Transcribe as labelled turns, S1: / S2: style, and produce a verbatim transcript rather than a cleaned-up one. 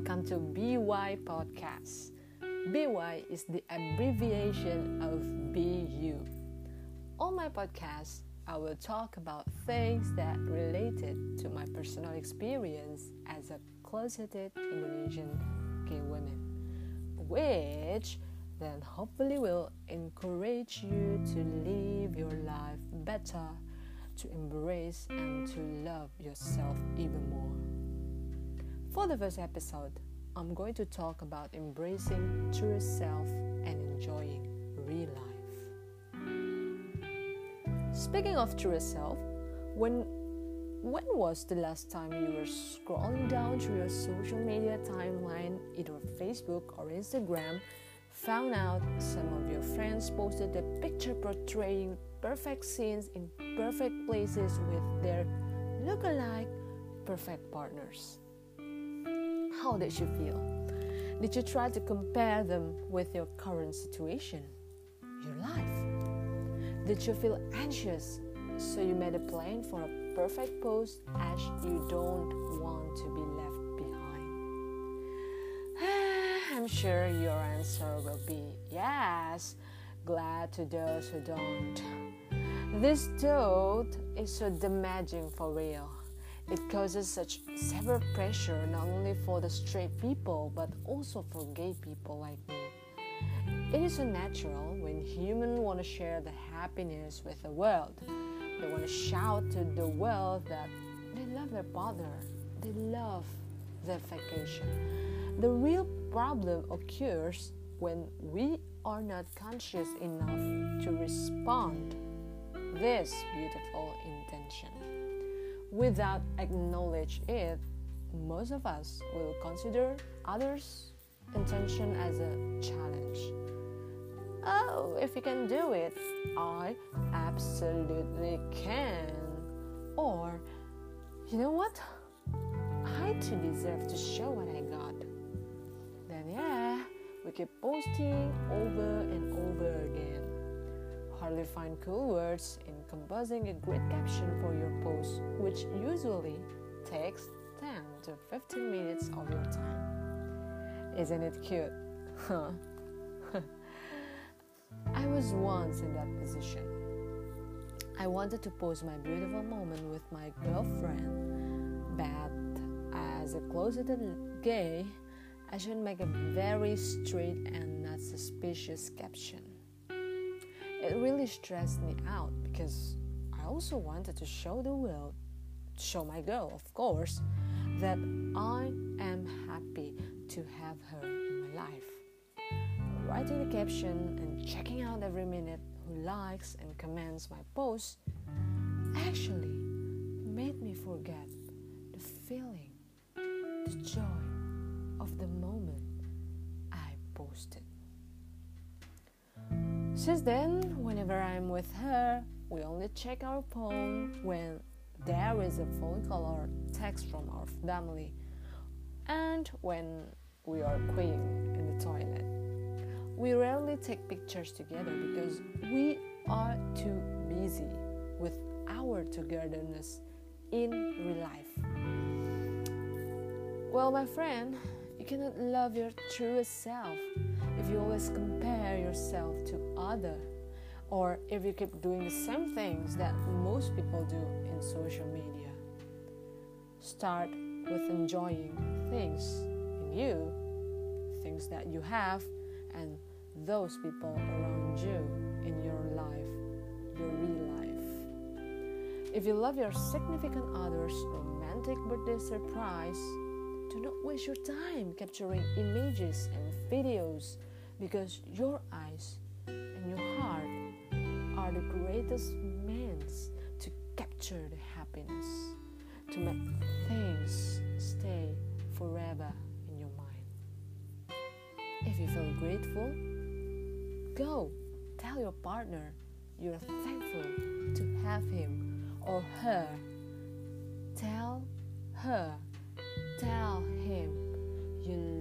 S1: welcome to B Y Podcast. B Y is the abbreviation of Be You. On my podcast, I will talk about things that related to my personal experience as a closeted Indonesian gay woman, which then hopefully will encourage you to live your life better, to embrace and to love yourself even more. For the first episode, I'm going to talk about embracing true self and enjoying real life. Speaking of true self, when when was the last time you were scrolling down through your social media timeline, either Facebook or Instagram, found out some of your friends posted a picture portraying perfect scenes in perfect places with their look-alike perfect partners? How did you feel? Did you try to compare them with your current situation, your life? Did you feel anxious, so you made a plan for a perfect pose as you don't want to be left behind? I'm sure your answer will be yes. Glad to those who don't. This thought is so damaging for real. It causes such severe pressure not only for the straight people but also for gay people like me. It is so natural when humans want to share the happiness with the world. They want to shout to the world that they love their partner, they love their vacation. The real problem occurs when we are not conscious enough to respond this beautiful intention. Without acknowledge it, most of us will consider others' intention as a challenge. Oh, if you can do it, I absolutely can. Or, you know what? I too deserve to show what I got. Then yeah, we keep posting over and over again. Hardly find cool words in composing a great caption for your post, which usually takes ten to fifteen minutes of your time. Isn't it cute? Huh? I was once in that position. I wanted to post my beautiful moment with my girlfriend, but as a closeted gay, I should make a very straight and not suspicious caption. It really stressed me out because I also wanted to show the world, show my girl, of course, that I am happy to have her in my life. Writing the caption and checking out every minute who likes and comments my post actually made me forget the feeling, the joy of the moment I posted. Since then, whenever I'm with her, we only check our phone when there is a phone call or text from our family, and when we are queuing in the toilet. We rarely take pictures together because we are too busy with our togetherness in real life. Well, my friend, you cannot love your truest self if you always compare yourself to others, or if you keep doing the same things that most people do in social media. Start with enjoying things in you, things that you have, and those people around you in your life, your real life. If you love your significant other's romantic birthday surprise, do not waste your time capturing images and videos, because your eyes and your heart are the greatest means to capture the happiness, to make things stay forever in your mind. If you feel grateful, go tell your partner you're thankful to have him or her. Tell her, tell him you